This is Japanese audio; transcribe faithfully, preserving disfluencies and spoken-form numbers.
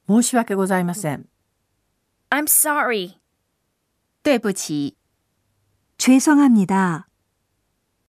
申し訳ございません。 I'm sorry. 对不起。 죄송합니다.